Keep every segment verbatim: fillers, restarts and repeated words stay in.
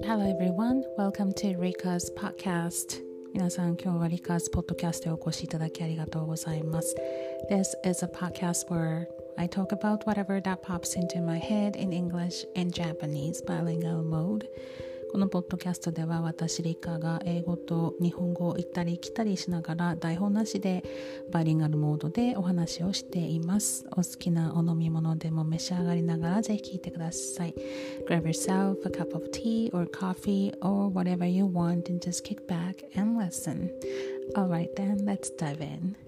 Hello everyone, welcome to Rika's podcast. 皆さん、今日は Rika's podcast へお越しいただきありがとうございます。This is a podcast where I talk about whatever that pops into my head in English and Japanese bilingual mode. このポッドキャストでは私リカが英語と日本語を行ったり来たりしながら台本なしでバイリンガルモードでお話をしています。お好きなお飲み物でも召し上がりながらぜひ聞いてください。Grab yourself a cup of tea or coffee or whatever you want and just kick back and listen. Alright then, let's dive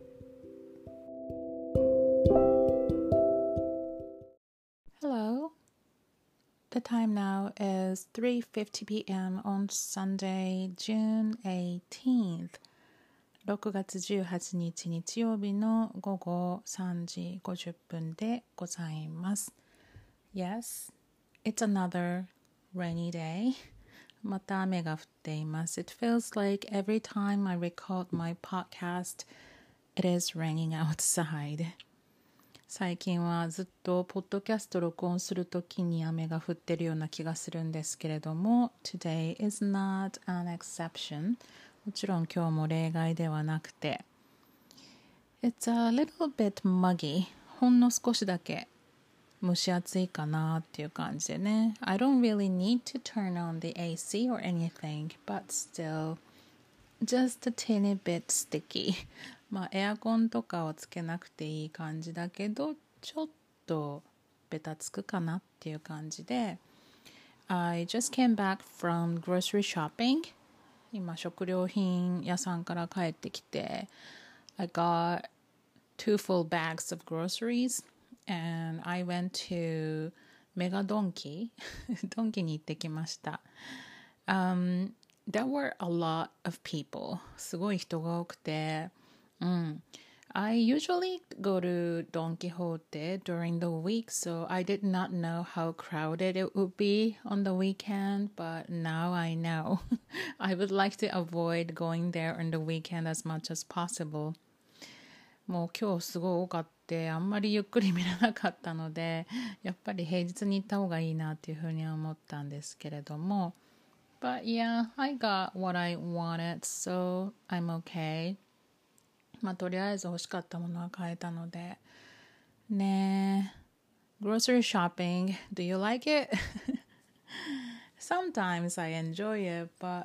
in.Hello.The time now is three fifty p.m. on Sunday, June eighteenth. ろくがつじゅうはちにち日曜日の午後さんじごじゅっぷんでございます。Yes, it's another rainy day. また雨が降っています。It feels like every time I record my podcast, it is raining outside.最近はずっとポッドキャスト録音するときに雨が降ってるような気がするんですけれども Today is not an exception もちろん今日も例外ではなくて It's a little bit muggy ほんの少しだけ蒸し暑いかなっていう感じでね I don't really need to turn on the A C or anything but still just a teeny bit stickyまあエアコンとかをつけなくていい感じだけどちょっとベタつくかなっていう感じで I just came back from grocery shopping 今食料品屋さんから帰ってきて I got two full bags of groceries and I went to メガドンキドンキに行ってきました、um, There were a lot of people すごい人が多くてMm. I usually go to Don Quixote during the week, so I did not know how crowded it would be on the weekend, but now I know. I would like to avoid going there on the weekend as much as possible. もう今日すごい多かってあんまりゆっくり見れなかったのでやっぱり平日に行った方がいいなっていうふうに思ったんですけれども But yeah, I got what I wanted, so I'm okay.まあとりあえず欲しかったものは買えたのでねえ Grocery shopping, do you like it? Sometimes I enjoy it, but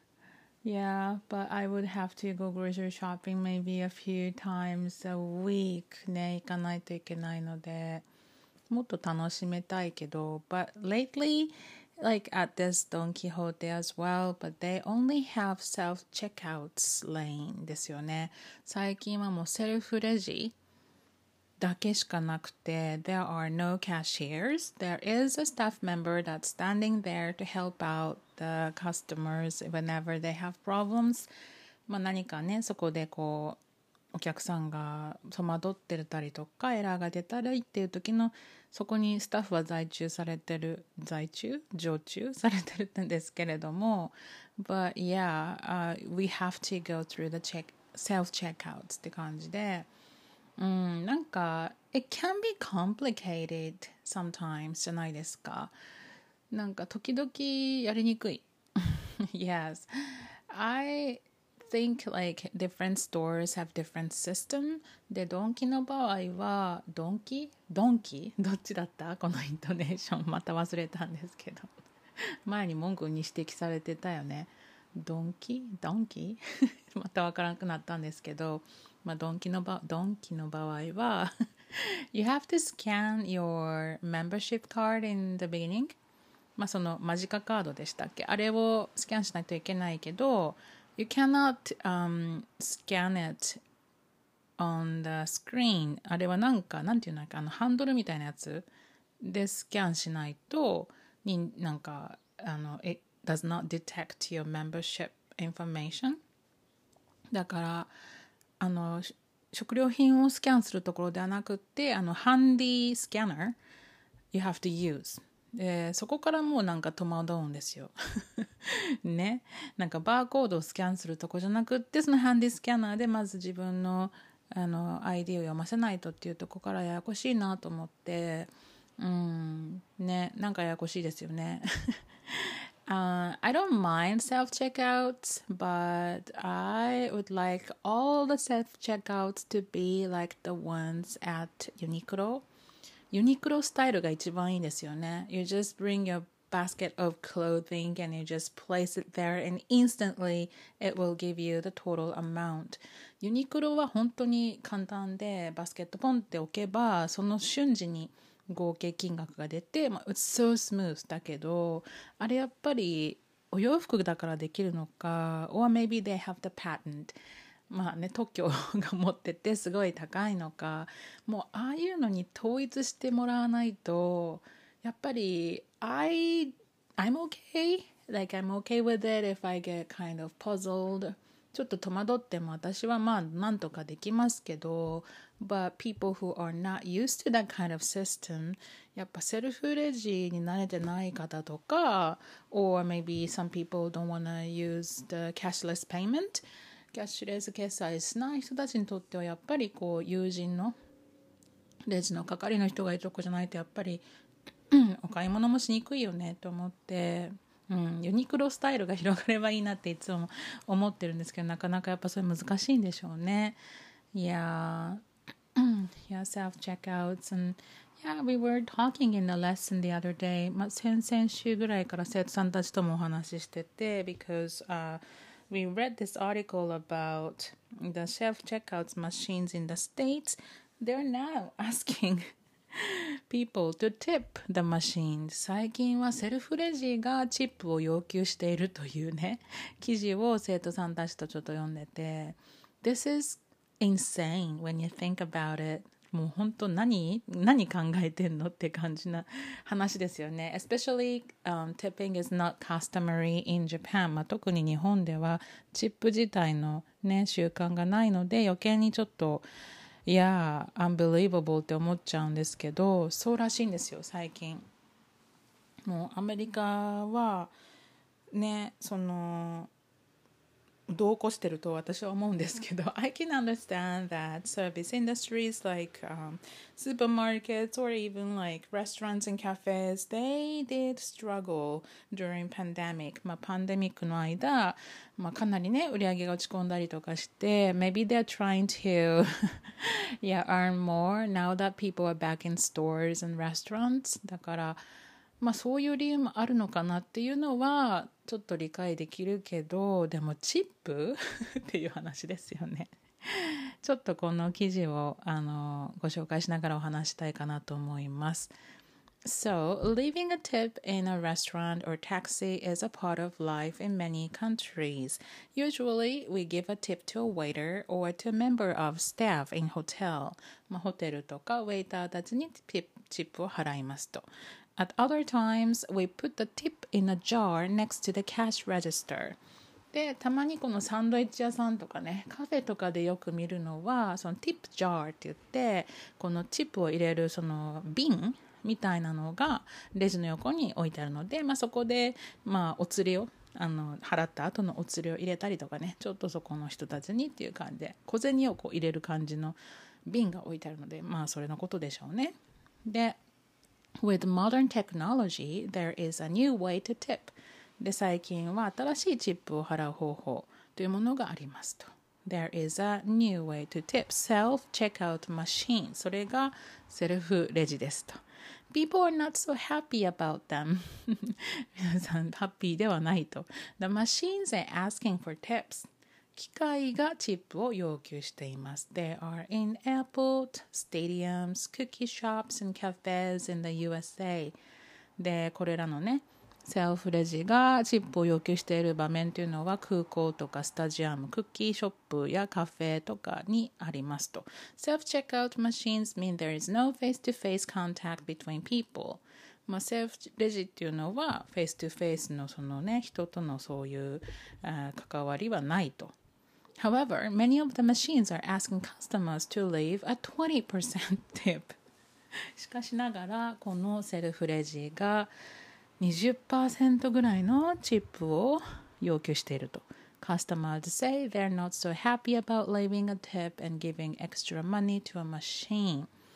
yeah, but I would have to go grocery shopping maybe a few times a week ね行かないといけないのでもっと楽しめたいけど But lately like at this Don Quixote as well, but they only have self-checkouts lane ですよね。最近はもうセルフレジだけしかなくて There are no cashiers. There is a staff member that's standing there to help out the customers whenever they have problems. まあ何かね、そこでこうお客さんが戸惑ってたりとかエラーが出たりっていう時のそこにスタッフは在中されてる在中常駐されてるんですけれども But yeah、uh, we have to go through the check, self-checkouts って感じでうんなんか It can be complicated sometimes じゃないですかなんか時々やりにくいYes I think like different stores have different system でドンキの場合はドンキドンキどっちだったこのイントネーションまた忘れたんですけど前に文句に指摘されてたよねドンキドンキまたわからなくなったんですけど、まあ、ドンキの場ドンキの場合はYou have to scan your membership card in the beginning まあそのマジカカードでしたっけあれをスキャンしないといけないけどYou cannot、um, scan it on the screen あれはなんかなんていうのかあのハンドルみたいなやつでスキャンしないとになんかあの It does not detect your membership information だからあの食料品をスキャンするところではなくってあのハンディスキャナー You have to useでそこからもうなんか戸惑うんですよねなんかバーコードをスキャンするとこじゃなくってそのハンディスキャナーでまず自分のあの アイディー を読ませないとっていうとこからややこしいなと思ってうんねなんかややこしいですよね Uh, I don't mind self checkouts, but I would like all the self checkouts to be like the ones at Uniqlo. ユニクロスタイルが一番いいですよね。You just bring your basket of clothing and you just place it there and instantly it will give you the total amount. ユニクロは本当に簡単でバスケットポンって置けばその瞬時に合計金額が出て、まあ、It's so smooth だけどあれやっぱりお洋服だからできるのか or maybe they have the patent まあね特許が持っててすごい高いのかもうああいうのに統一してもらわないとやっぱり I, I'm okay like I'm okay with it if I get kind of puzzled ちょっと戸惑っても私はまあなんとかできますけど but people who are not used to that kind of system やっぱセルフレジに慣れてない方とか or maybe some people don't want to use the cashless payment キャッシュレス決済しない人たちにとってはやっぱりこう友人のレジの係の人がいるとこじゃないとやっぱりお買い物もしにくいよねと思って、うん、ユニクロスタイルが広がればいいなっていつも思ってるんですけどなかなかやっぱそれ難しいんでしょうね。Yeah, yeah, self-checkouts and yeah, we were talking in the lesson the other day. まあ、先々週ぐらいから生徒さんたちともお話ししてて because、uh, we read this article about the self-checkouts machines in the States. They're now asking people to tip the machine 最近はセルフレジがチップを要求しているというね記事を生徒さんたちとちょっと読んでて This is insane when you think about it もう本当何何考えてんのって感じな話ですよね Especially、um, tipping is not customary in Japan、まあ、特に日本ではチップ自体のね習慣がないので余計にちょっといやー、unbelievable って思っちゃうんですけど、そうらしいんですよ、最近。もうアメリカは、ね、その、度を越してると私は思うんですけど I can understand that service industries like、um, supermarkets or even like restaurants and cafes they did struggle during pandemic まあパンデミックの間、まあ、かなりね売り上げが落ち込んだりとかして maybe they're trying to yeah, earn more now that people are back in stores and restaurants だからまあそういう理由もあるのかなっていうのはちょっと理解できるけどでもチップっていう話ですよねちょっとこの記事をあのご紹介しながらお話したいかなと思います So, leaving a tip in a restaurant or taxi is a part of life in many countries. Usually, we give a tip to a waiter or to a member of staff in hotel. まあ、ホテルとかウェイターたちにチップを払いますと。At other times, we put the tip in a jar next to the cash register. で、たまにこのサンドイッチ屋さんとかね、カフェとかでよく見るのは、そのティップジャーって言って、このチップを入れるその瓶みたいなのがレジの横に置いてあるので、まあ、そこで、まあ、お釣りをあの払った後のお釣りを入れたりとかね、ちょっとそこの人たちにっていう感じで、小銭をこう入れる感じの瓶が置いてあるので、まあ、それのことでしょうね。で、With modern technology, there is a new way to tip. で、最近は新しいチップを払う方法というものがありますと。There is a new way to tip. Self-checkout machine. それがセルフレジですと。People are not so happy about them. 皆さん、ハッピーではないと。The machines are asking for tips. 機械がチップを要求しています。They are in airport, stadiums, cookie shops and cafes in the ユーエスエー で、これらのね、セルフレジがチップを要求している場面というのは空港とかスタジアム、クッキーショップやカフェとかにありますと。Self-checkout machines mean there is no face-to-face contact between people. まあ、セルフレジっていうのはフェイストゥフェイスのそのね、人とのそういう関わりはないと。However, many of the machines are asking customers to leave a twenty percent tip. しかしながら、このセルフレジがにじゅっパーセントぐらいのチップを要求していると。Customers say they're not so happy about leaving a tip and giving extra money to a machine.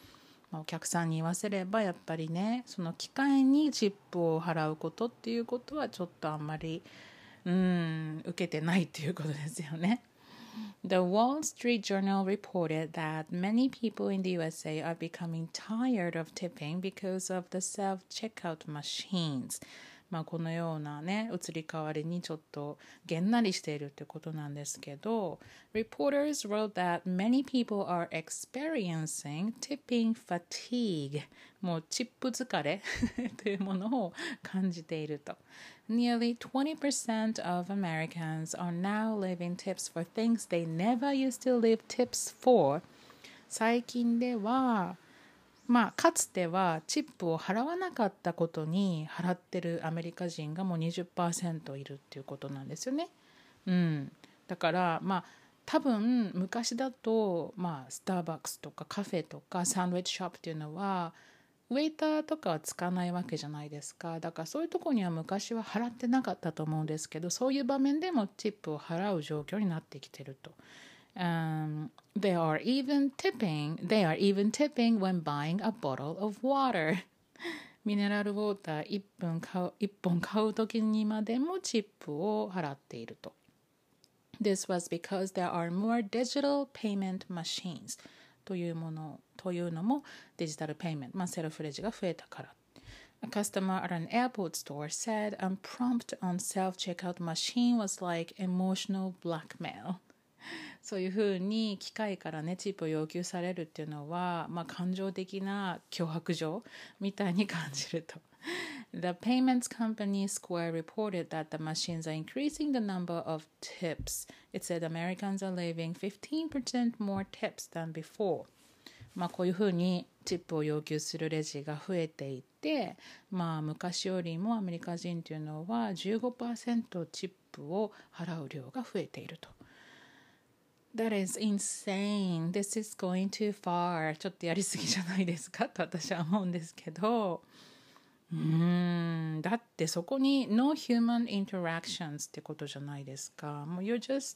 まあ、お客さんに言わせればやっぱりね、その機会にチップを払うことっていうことはちょっとあんまりうん受けてないっていうことですよね。The Wall Street Journal reported that many people in the U S A are becoming tired of tipping because of the self-checkout machines. まあこのようなね、移り変わりにちょっとげんなりしているってことなんですけど、Reporters wrote that many people are experiencing tipping fatigue. もうチップ疲れというものを感じていると。Nearly twenty percent of Americans are now leaving tips for things they never used to leave tips for. 最近では、まあ、かつてはチップを払わなかったことに払ってるアメリカ人がもう にじゅっパーセント いるっていうことなんですよね。うん、だからまあ多分昔だと、まあ、スターバックスとかカフェとかサンドイッチショップっていうのはウェイターとかはつかないわけじゃないですか。だからそういうところには昔は払ってなかったと思うんですけど、そういう場面でもチップを払う状況になってきてると。Um, they are even tipping, they are even tipping when buying a bottle of water. ミネラルウォーターいっぽん買う、いっぽん買う時にまでもチップを払っていると。This was because there are more digital payment machines というものというのもデジタルペイメント、まあ、セルフレジが増えたから。A customer at an airport store said a prompt on self-checkout machine was like emotional blackmail. そういうふうに機械からねチップを要求されるっていうのは、まあ、感情的な脅迫状みたいに感じると。The payments company Square reported that the machines are increasing the number of tips. It said Americans are leaving fifteen percent more tips than before. まあこういうふうにチップを要求するレジが増えていて、まあ昔よりもアメリカ人というのは じゅうごパーセント チップを払う量が増えていると。That is insane. This is going too far. ちょっとやりすぎじゃないですかと私は思うんですけど、うーん、だってそこに no human interactions ってことじゃないですか。もう you're just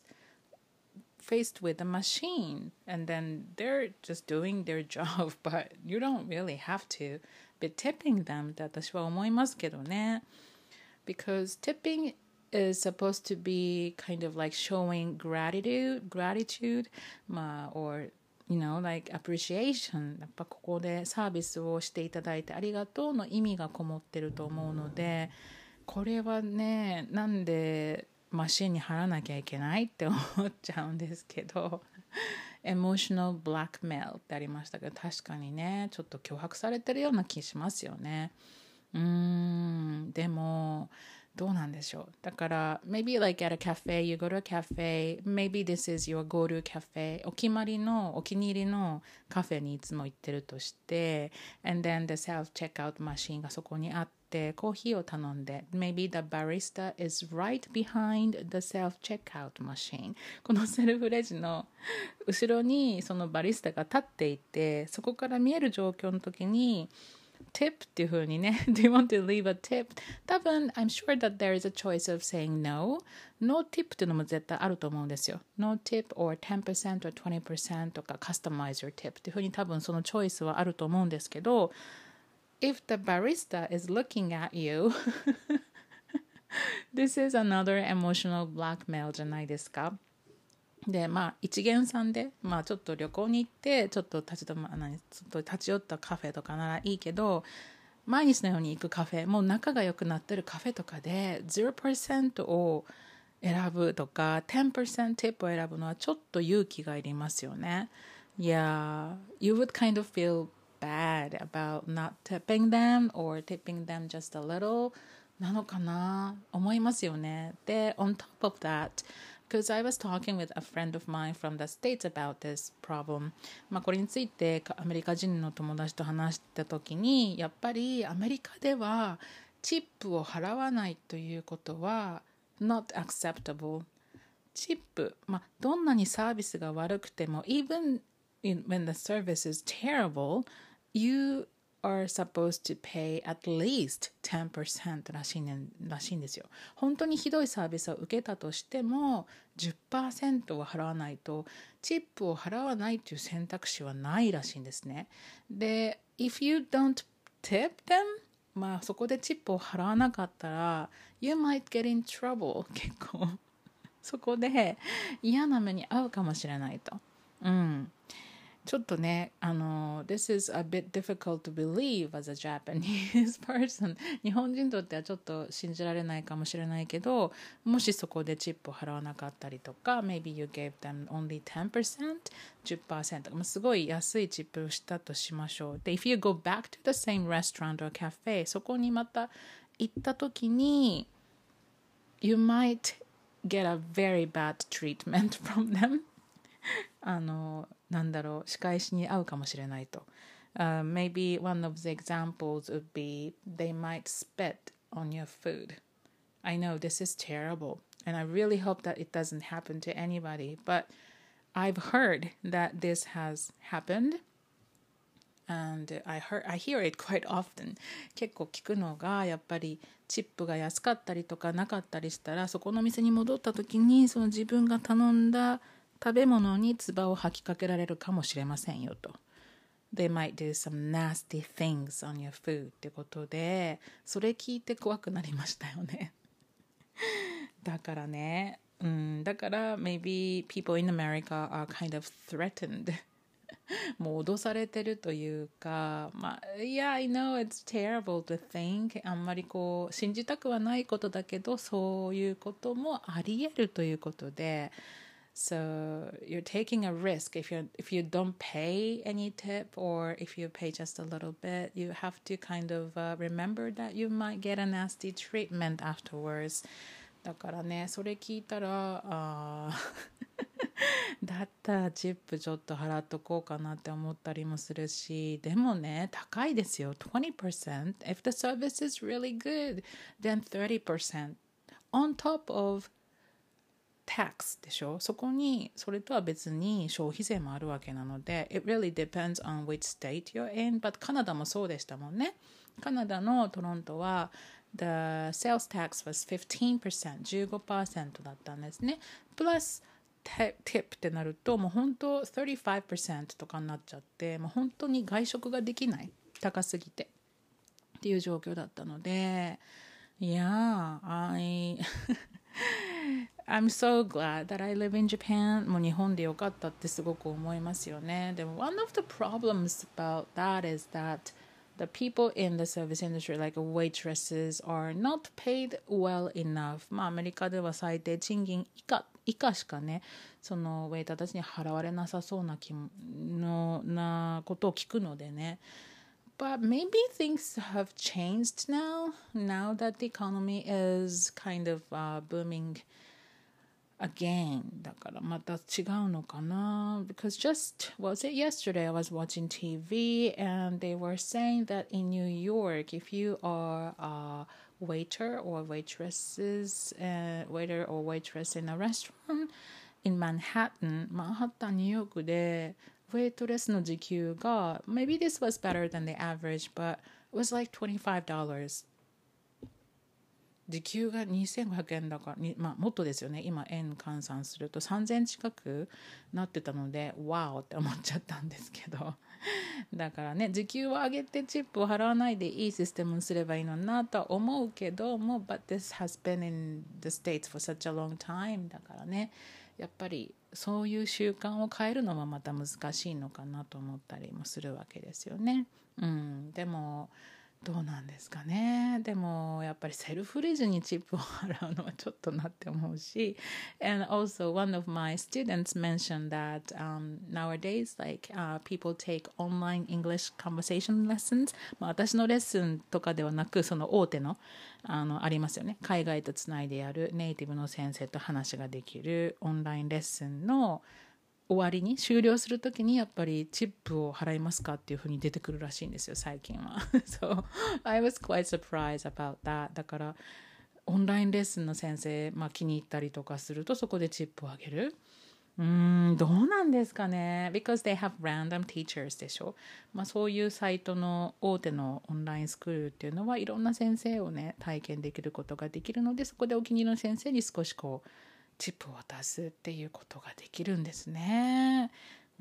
faced with a machine and then they're just doing their job, but you don't really have to be tipping them って私は思いますけどね。Because tipping is supposed to be kind of like showing gratitude, gratitude, まあ or you know, like appreciation. やっぱここでサービスをしていただいてありがとうの意味がこもってると思うので、これはね、なんでマシンに貼らなきゃいけないって思っちゃうんですけど、emotional blackmail ってありましたけど、確かにね、ちょっと脅迫されてるような気しますよね。うーん、でもどうなんでしょう。だから maybe like at a cafe, you go to a cafe, maybe this is your go-to cafe, お決まりのお気に入りのカフェにいつも行ってるとして、and then the self-checkout machine がそこにあってコーヒーを頼んで、 maybe the barista is right behind the self-checkout machine. このセルフレジの後ろにそのバリスタが立っていて、そこから見える状況の時にtip っていう風にね Do you want to leave a tip? 多分 I'm sure that there is a choice of saying no. No tip っていうのも絶対あると思うんですよ。 No tip or ten percent or twenty percent とか Customize your tip っていう風に多分そのチョイスはあると思うんですけど、 If the barista is looking at you This is another emotional blackmail じゃないですか。でまあ一元さんで、まあ、ちょっと旅行に行ってちょっと立ち止ま何ちょっと立ち寄ったカフェとかならいいけど、毎日のように行くカフェ、もう仲が良くなってるカフェとかで ゼロパーセント を選ぶとか テンパーセント ティップを選ぶのはちょっと勇気がいりますよね。Yeah, you would kind of feel bad about not tipping them or tipping them just a little なのかな思いますよね。で on top of that,Because I was talking with a friend of mine from the States about this problem. まあこれについてアメリカ人の友達と話したときに、やっぱりアメリカではチップを払わないということは not acceptable. チップ、まあどんなにサービスが悪くても even in, when the service is terrible, you are supposed to pay at least ten percent らしいねらしいんですよ。本当にひどいサービスを受けたとしても じゅっパーセント は払わないとチップを払わないという選択肢はないらしいんですね。で if you don't tip them まあそこでチップを払わなかったら you might get in trouble 結構そこで嫌な目に遭うかもしれないと。うん。ちょっとね、あの、this is a bit difficult to believe as a Japanese person 日本人にとってはちょっと信じられないかもしれないけど、もしそこでチップを払わなかったりとか maybe you gave them only ten percent じゅっパーセント、まあ、すごい安いチップをしたとしましょう。で if you go back to the same restaurant or cafe そこにまた行った時に you might get a very bad treatment from them あのなんだろう仕返しに遭うかもしれないと、uh, maybe one of the examples would be they might spit on your food. I know this is terrible and I really hope that it doesn't happen to anybody, but I've heard that this has happened and I heard I hear it quite often. 結構聞くのがやっぱりチップが安かったりとかなかったりしたらそこの店に戻った時にその自分が頼んだ食べ物に唾を吐きかけられるかもしれませんよと。They might do some nasty things on your food ってことで、それ聞いて怖くなりましたよね。だからね、うん、だから maybe people in America are kind of threatened もう脅されてるというか、まあ、Yeah, I know it's terrible to think あんまりこう信じたくはないことだけどそういうこともあり得るということでSo you're taking a risk if you if you don't pay any tip or if you pay just a little bit, you have to kind of uh, remember that you might get a nasty treatment afterwards. だからね、それ聞いたら、あだったらチップちょっと払っとこうかなって思ったりもするし、でもね、高いですよ。twenty percent. If the service is really good, then thirty percent on top of tax でしょ。そこにそれとは別に消費税もあるわけなので It really depends on which state you're in But カナダもそうでしたもんね。カナダのトロントは The sales tax was fifteen percent じゅうごパーセントだったんですね。プラス tip ってなるともう本当thirty-five percent とかになっちゃってもう本当に外食ができない高すぎてっていう状況だったので Yeah, I I'm so glad that I live in Japan. もう日本でよかったってすごく思いますよね。でも one of the problems about that is that the people in the service industry, like waitresses, are not paid well enough. まあアメリカでは最低賃金以下、以下しかね、そのウェイターたちに払われなさそうな気のなことを聞くのでね。But maybe things have changed now, now that the economy is kind of uh, booming again. だからまた違うのかな Because just, was it yesterday I was watching T V and they were saying that in New York, if you are a waiter or waitresses, uh, waiter or waitress in a restaurant in Manhattan, マンハッタンニューヨークでウェイトレスの時給が maybe this was better than the average but it was like twenty-five dollars 時給がにせんごひゃくえんだからまあもっとですよね今円換算するとさんぜん近くなってたのでワオって思っちゃったんですけどだからね時給を上げてチップを払わないでいいシステムにすればいいのになとは思うけども but this has been in the States for such a long time だからねやっぱりそういう習慣を変えるのはまた難しいのかなと思ったりもするわけですよね。うん、でもどうなんですかね。でもやっぱりセルフレジにチップを払うのはちょっとなって思うし And also one of my students mentioned that、um, nowadays like、uh, people take online English conversation lessons、まあ、私のレッスンとかではなくその大手のあのありますよね海外とつないでやるネイティブの先生と話ができるオンラインレッスンの終わりに終了するときにやっぱりチップを払いますかっていうふうに出てくるらしいんですよ最近はSo I was quite surprised about that だからオンラインレッスンの先生、まあ、気に入ったりとかするとそこでチップをあげるうーんどうなんですかね because they have random teachers でしょ、まあ、そういうサイトの大手のオンラインスクールっていうのはいろんな先生をね体験できることができるのでそこでお気に入りの先生に少しこうチップを渡すっていうことができるんですね。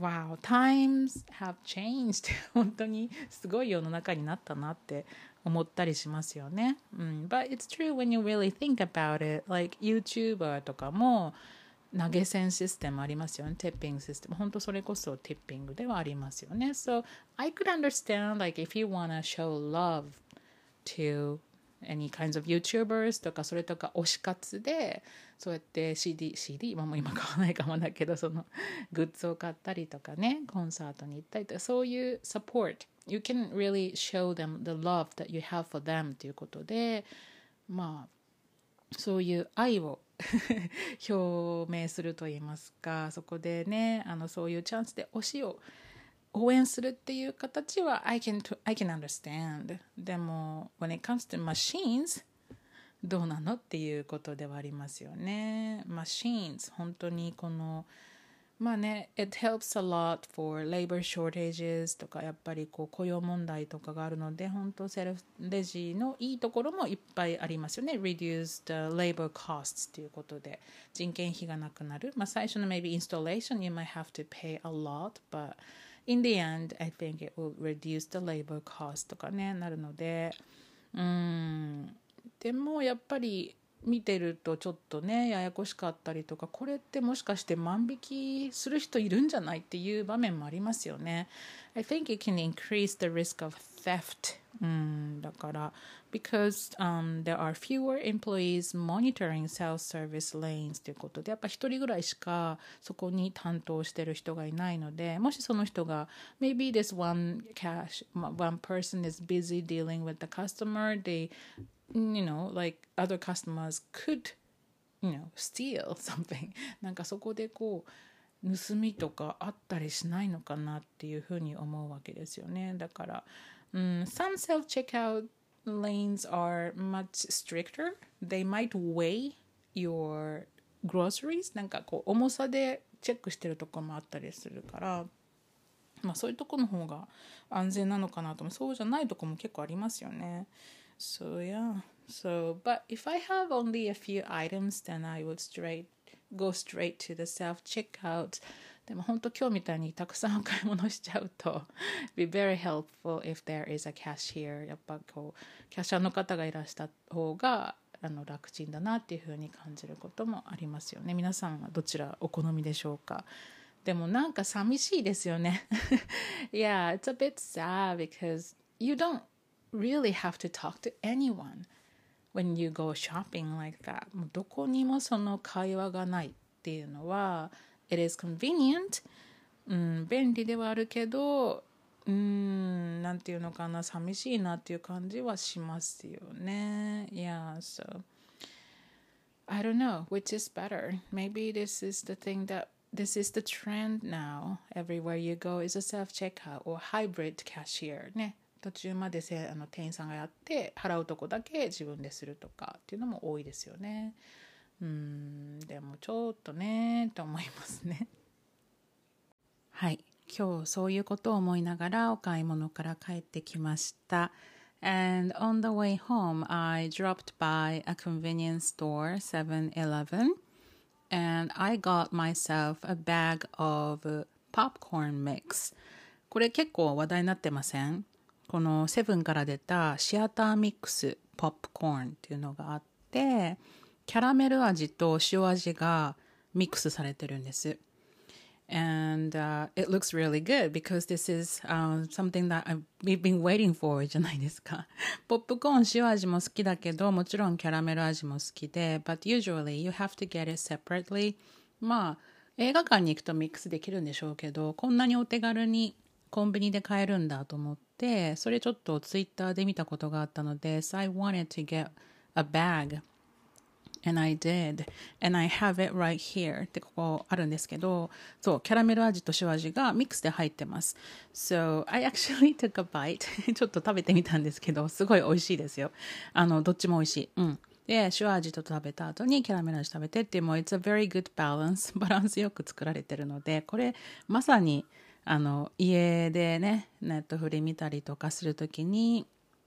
Wow, times have changed. 本当にすごい世の中になったなって思ったりしますよね。うん、But it's true when you really think about it. Like YouTuber とかも投げ銭システムありますよね。ティッピングシステム。本当それこそティッピングではありますよね。So I could understand like if you wanna show love to any kinds of YouTubers とかそれとか推し活でそうやって シーディー、シーディー 今も今買わないかもだけどそのグッズを買ったりとかねコンサートに行ったりとかそういう support you can really show them the love that you have for them ということでまあそういう愛を表明すると言いますかそこでねあのそういうチャンスで推しを応援するっていう形は I can, I can understand でも when it comes to machines どうなのっていうことではありますよね machines 本当にこのまあね it helps a lot for labor shortages とかやっぱりこう雇用問題とかがあるので本当セルフレジのいいところもいっぱいありますよね reduce the labor costs っていうことで人件費がなくなるまあ最初の maybe installation you might have to pay a lot but in the end I think it will reduce the labor cost とかねなるのでうーんでもやっぱり見てるとちょっとねややこしかったりとかこれってもしかして万引きする人いるんじゃないっていう場面もありますよね I think it can increase the risk of theft うんだから because、um, there are fewer employees monitoring self-service lanes ということでやっぱ一人ぐらいしかそこに担当してる人がいないのでもしその人が maybe this one cash one person is busy dealing with the customer they you know, like other customers could, you know, steal something. なんかそこでこう盗みとかあったりしないのかなっていうふうに思うわけですよね。だから、うん、some self-checkout lanes are much stricter. They might weigh your groceries. なんかこう重さでチェックしてるとこもあったりするから、まあそういうとこの方が安全なのかなと思う。そうじゃないとこも結構ありますよね。So yeah, so but if I have only a few items, then I would straight go straight to the self checkout. でも本当今日みたいにたくさんお買い物しちゃうと be very helpful if there is a cashier. やっぱこうキャッシャーの方がいらした方があの楽ちんだなっていう風に感じることもありますよね。皆さんはどちらお好みでしょうか。でもなんか寂しいですよね。Yeah, it's a bit sad because you don't really have to talk to anyone when you go shopping like that もうどこにもその会話がないっていうのは it is convenient、うん、便利ではあるけどうーんなんていうのかな寂しいなっていう感じはしますよね Yeah, so I don't know which is better maybe this is the thing that this is the trend now everywhere you go is a self-checkout or hybrid cashier ね途中までせあの店員さんがやって払うとこだけ自分でするとかっていうのも多いですよね。うーんでもちょっとねと思いますね。はい今日そういうことを思いながらお買い物から帰ってきました。And on the way home, I dropped by a convenience store, seven eleven, and I got myself a bag of popcorn mix. これ結構話題になってません？このセブンから出たシアターミックスポップコーンっていうのがあってキャラメル味と塩味がミックスされてるんです。And、uh, it looks really good because this is、uh, something that I've, we've been waiting for じゃないですか。ポップコーン塩味も好きだけどもちろんキャラメル味も好きで But usually you have to get it separately まあ映画館に行くとミックスできるんでしょうけどこんなにお手軽にコンビニで買えるんだと思ってそれちょっとツイッターで見たことがあったので So I wanted to get a bag and I did and I have it right here ってここあるんですけどそうキャラメル味と塩味がミックスで入ってます So I actually took a bite ちょっと食べてみたんですけどすごい美味しいですよあのどっちも美味しいうんで塩味と食べた後にキャラメル味食べてっていうもう It's a very good balance バランスよく作られてるのでこれまさにあの家でねネットフリ見たりとかするときに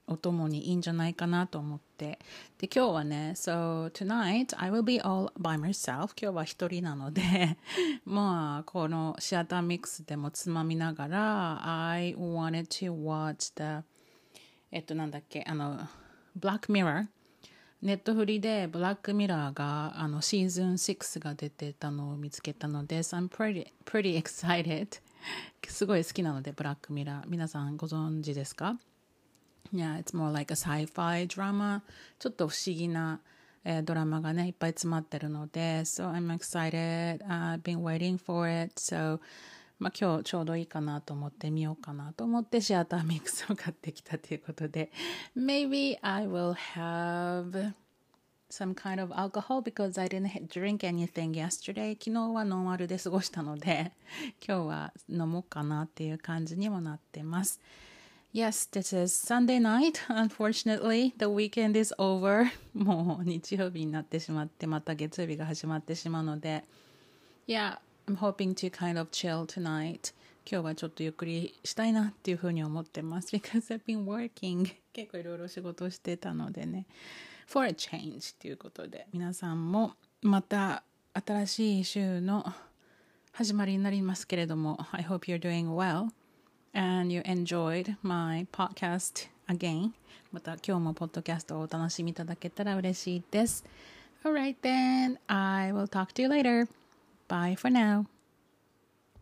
お供にいいんじゃないかなと思って。で、今日はね、So tonight I will be all by myself. 今日は一人なので、まあ、このシアターミックスでもつまみながら、I wanted to watch the えっとなんだっけ、あの、Black Mirror。ネットフリでブラックミラーがあのシーズンろくが出てたのを見つけたので、So I'm pretty, pretty excited. すごい好きなので、ブラックミラー。皆さんご存知ですか？ Yeah, it's more like a sci-fi drama. ちょっと不思議な、えー、ドラマがね、いっぱい詰まってるので、So I'm excited.、Uh, I've been waiting for it. So, まあ今日ちょうどいいかなと思って見ようかなと思ってシアターミックスを買ってきたということで、Maybe I will have some kind of alcohol because I didn't drink anything yesterday. 昨日はノンアルで過ごしたので、今日は飲もうかなっていう感じにもなってます。Yes, this is Sunday night. Unfortunately, the weekend is over. もう日曜日になってしまって、また月曜日が始まってしまうので。Yeah, I'm hoping to kind of chill tonight. 今日はちょっとゆっくりしたいなっていうふうに思ってます。Because I've been working. 結構いろいろ仕事してたのでね。For a change ということで、皆さんもまた新しい週の始まりになりますけれども、I hope you're doing well.And you enjoyed my podcast again. また今日もポッドキャストをお楽しみいただけたら嬉しいです。Alright then, I will talk to you later. Bye for now.